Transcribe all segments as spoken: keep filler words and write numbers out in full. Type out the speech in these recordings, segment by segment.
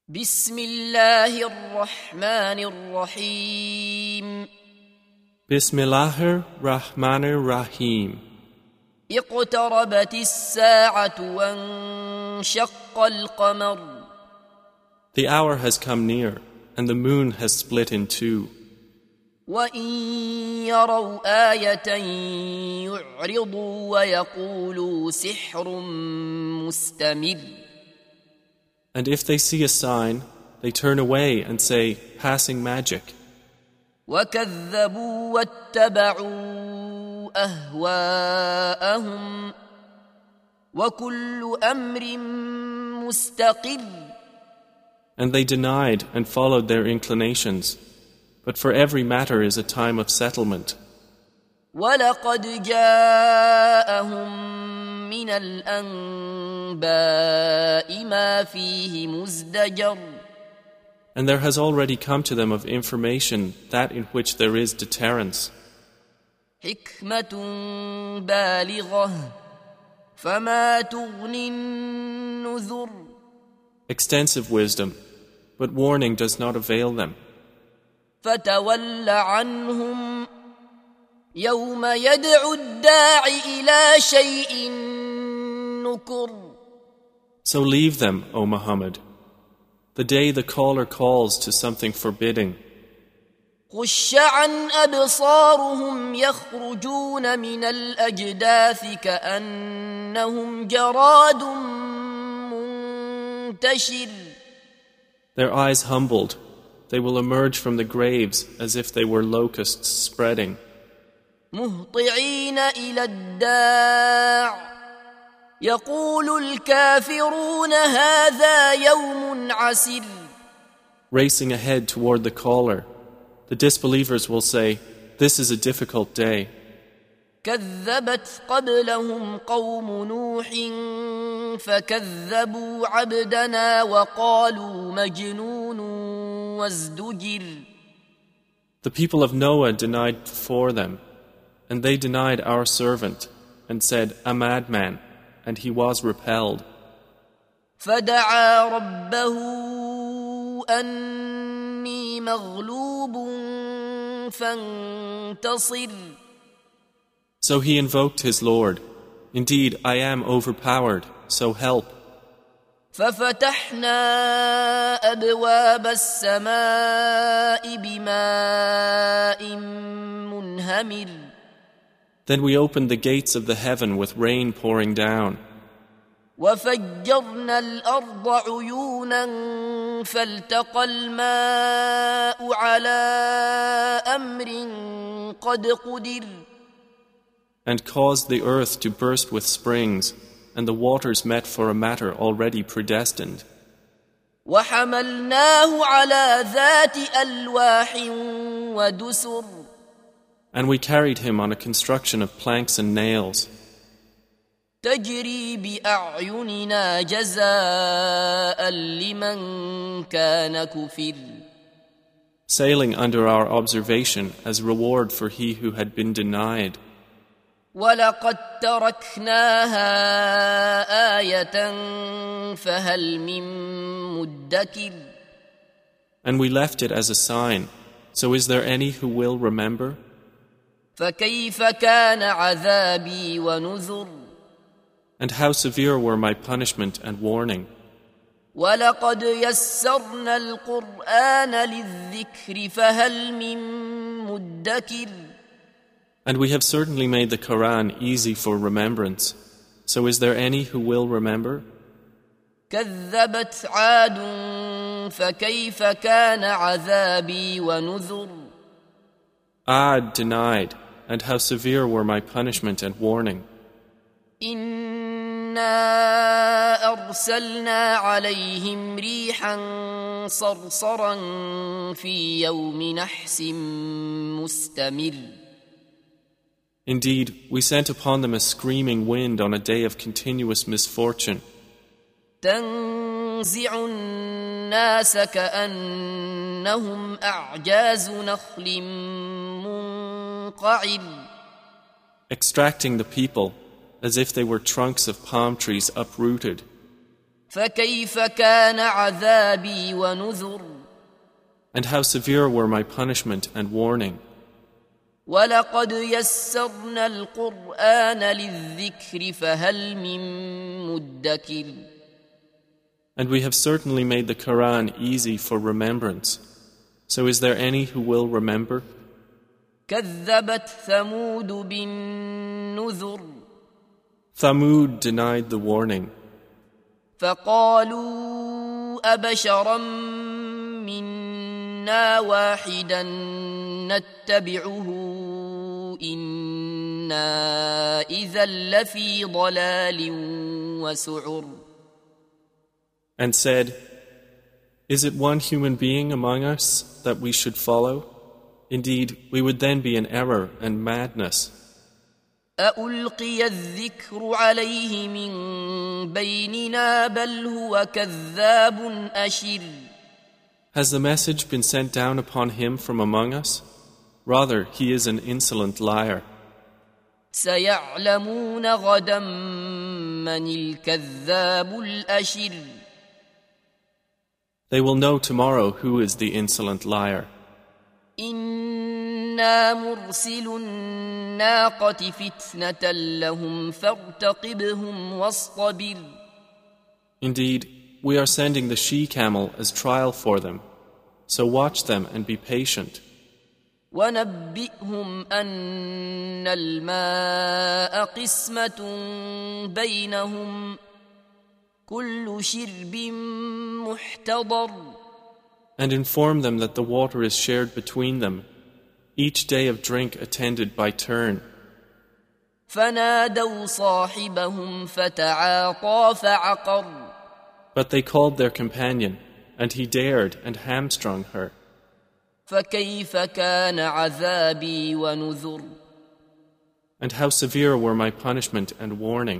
بسم الله الرحمن الرحيم Bismillahir Rahmanir Rahim. اقتربت الساعة وانشق القمر. The hour has come near, and the moon has split in two. وإن يروا آية يعرضوا ويقولوا سحر مستمر. And if they see a sign, they turn away and say, passing magic. وكذبوا واتبعوا أهواءهم وكل أمر مستقر. And they denied and followed their inclinations. But for every matter is a time of settlement. وَلَقَدْ جَاءَهُم مِّنَ الْأَنبَاءِ مَا فِيهِ مُزْدَجَرٌ. And there has already come to them of information that in which there is deterrence. حِكْمَةٌ بَالِغَةٌ فَمَا تُغْنِ النُّذُرُ. Extensive wisdom, but warning does not avail them. فَتَوَلَّ عَنْهُمْ يوم يدعو الداع إلى شيء نكر. So leave them, O Muhammad, the day the caller calls to something forbidding. خش عن أبصارهم يخرجون من الأجداث كأنهم جراد منتشر. Their eyes humbled, they will emerge from the graves as if they were locusts spreading. مهطعين إلى الداع يقول الكافرون هذا يوم عسر. Racing ahead toward the caller, the disbelievers will say, this is a difficult day. كذبت قبلهم قوم نوح فكذبوا عبدنا وقالوا مجنون وازدجر. The people of Noah denied before them, and they denied our servant, and said, a madman, and he was repelled. فدعا ربه أني مغلوب فانتصر. So he invoked his Lord, indeed I am overpowered, so help. ففتحنا أبواب السماء بماء منهمر. Then we opened the gates of the heaven with rain pouring down. وفجرنا الأرض عيونا فالتقى الماء على أمر قد قدر. And caused the earth to burst with springs, and the waters met for a matter already predestined. وحملناه على ذات ألواح ودسر. And we carried him on a construction of planks and nails. تجري بأعيننا جزاء لمن كان كفر. Sailing under our observation as reward for he who had been denied. ولقد تركناها آية فهل من مدكر. And we left it as a sign, so is there any who will remember? فكيف كان عذابي ونذر. And how severe were my punishment and warning. ولقد يسرنا القرآن للذكر فهل من مدكر. And we have certainly made the Quran easy for remembrance. So is there any who will remember? كذبت عاد فكيف كان عذابي ونذر. Ad denied, and how severe were my punishment and warning. إنا أرسلنا عليهم ريحا صرصرا في يوم نحس مستمر. Indeed, we sent upon them a screaming wind on a day of continuous misfortune. تنزع الناس كأنهم أعجاز نخل منقعر. Extracting the people as if they were trunks of palm trees uprooted. فكيف كان عذابي ونذر. And how severe were my punishment and warning. ولقد يسرنا القرآن للذكر فهل من مدكر. And we have certainly made the Quran easy for remembrance. So is there any who will remember? كذبت ثمود بالنذر. Thamud denied the warning. فقالوا أبشرا منا واحدا نتبعه إنا إذا لفي ضلال وسعر. And said, "Is it one human being among us that we should follow? Indeed, we would then be in error and madness." أألقي الذكر عليه من بيننا بل هو كذاب أشر. Has the message been sent down upon him from among us? Rather, he is an insolent liar. سيعلمون غدا من الكذاب الأشر. They will know tomorrow who is the insolent liar. إنا مرسل الناقة فتنة لهم فارتقبهم واصطبر. Indeed, we are sending the she-camel as trial for them, so watch them and be patient. ونبئهم أن الماء قسمة بينهم كل شرب محتضر. And inform them that the water is shared between them, each day of drink attended by turn. فنادوا صاحبهم فتعاطى فعقر. But they called their companion, and he dared and hamstrung her. فكيف كان عذابي ونذر. And how severe were my punishment and warning.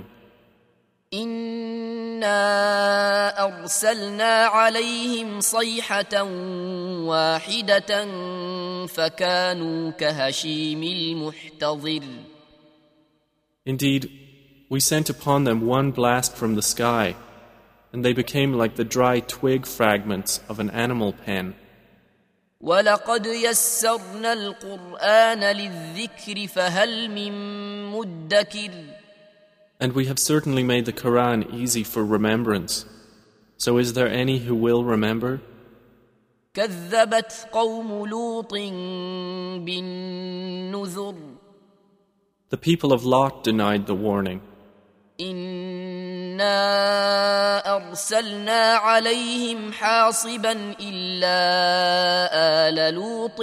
إنا أرسلنا عليهم صيحة واحدة فكانوا كهشيم المحتضر. Indeed, we sent upon them one blast from the sky, and they became like the dry twig fragments of an animal pen. ولقد يسرنا القرآن للذكر فهل من مدكر. And we have certainly made the Quran easy for remembrance. So is there any who will remember? كذبت قوم لوط بالنذر. The people of Lot denied the warning. إنا أرسلنا عليهم حاصبا إلا آل لوط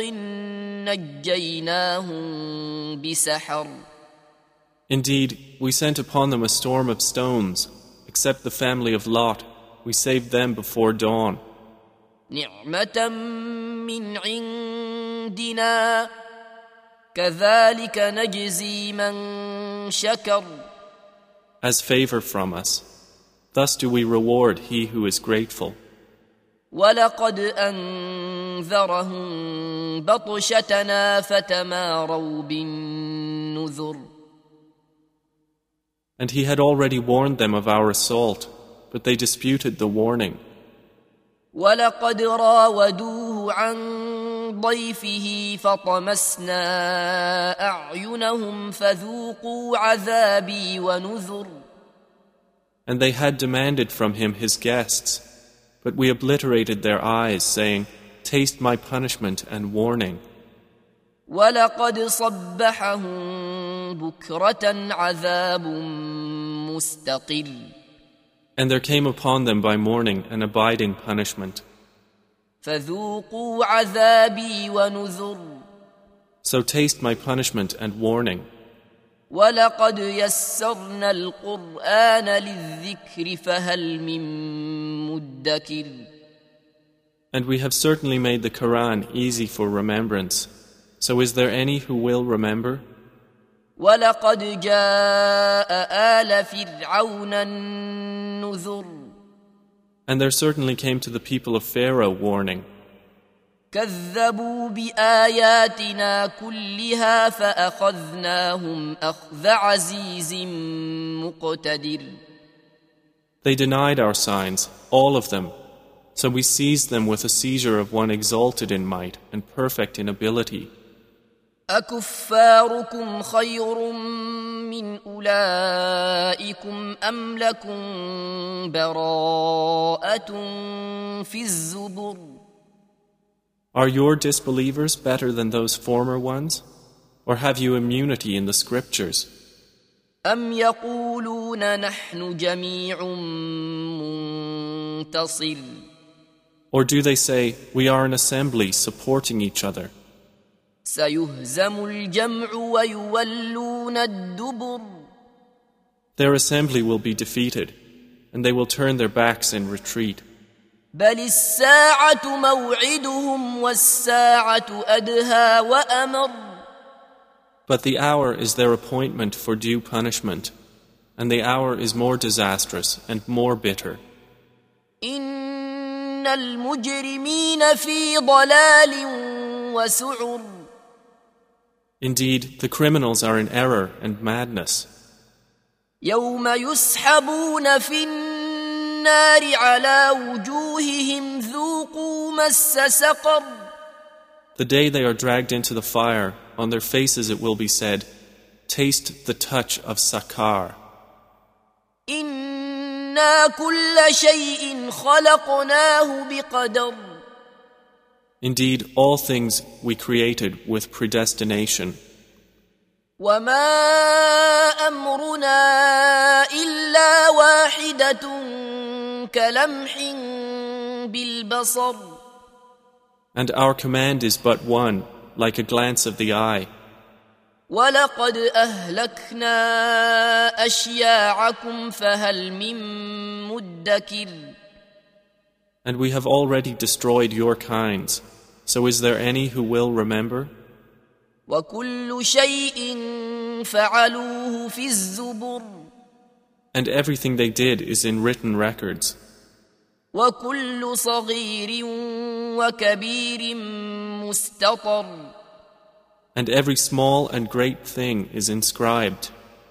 نجيناهم بسحر. Indeed, we sent upon them a storm of stones, except the family of Lot. We saved them before dawn. نعمة من عندنا كذلك نجزي من شكر. As favor from us. Thus do we reward he who is grateful. ولقد أنذرهم بطشتنا فتماروا بالنذر. And he had already warned them of our assault, but they disputed the warning. ولقد راودوه عن ضيفه فطمسنا أعينهم فذوقوا عذابي ونذر. And they had demanded from him his guests, but we obliterated their eyes, saying, "Taste my punishment and warning." ولقد صبحهم بكرة عذاب مستقر. And there came upon them by morning an abiding punishment. فذوقوا عذابي ونذر. So taste my punishment and warning. ولقد يسرنا القرآن للذكر فهل من مدكر. And we have certainly made the Quran easy for remembrance. So is there any who will remember? ولقد جاء آل فرعون النذر. And there certainly came to the people of Pharaoh warning. كذبوا بآياتنا كلها فأخذناهم أخذ عزيز مقتدر. They denied our signs, all of them, so we seized them with a seizure of one exalted in might and perfect in ability. أكفاركم خير من أولئكم أم لكم براءة في الزبر Are your disbelievers better than those former ones? Or have you immunity in the scriptures? أم يقولون نحن جميع منتصر Or do they say, we are an assembly supporting each other? سيهزم الجمع ويولون الدبر Their assembly will be defeated, and they will turn their backs in retreat. بل الساعة موعدهم والساعة أدهى وأمر But the hour is their appointment for due punishment, and the hour is more disastrous and more bitter. إن المجرمين في ضلال وسعر Indeed, the criminals are in error and madness. يوم يسحبون في النار على وجوههم ذوقوا مس سقر The day they are dragged into the fire, on their faces it will be said, taste the touch of Sakar. إنا كل شيء خلقناه بقدر Indeed, all things we created with predestination. وما أمرنا إلا واحدة كلمح بالبصر And our command is but one, like a glance of the eye. ولقد أهلكنا أشياعكم فهل من مدكر And we have already destroyed your kinds. So is there any who will remember? وكل شيء فعلوه في الزبر And everything they did is in written records. وكل صغير وكبير مستطر And every small and great thing is inscribed.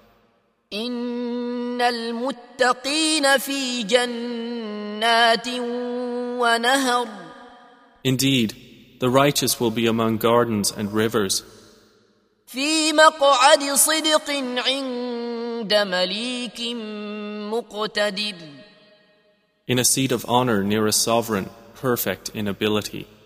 إن المتقين في جنات ونهر Indeed, the righteous will be among gardens and rivers. في مقعد صدق عند مليك مقتدر In a seat of honor near a sovereign, perfect in ability.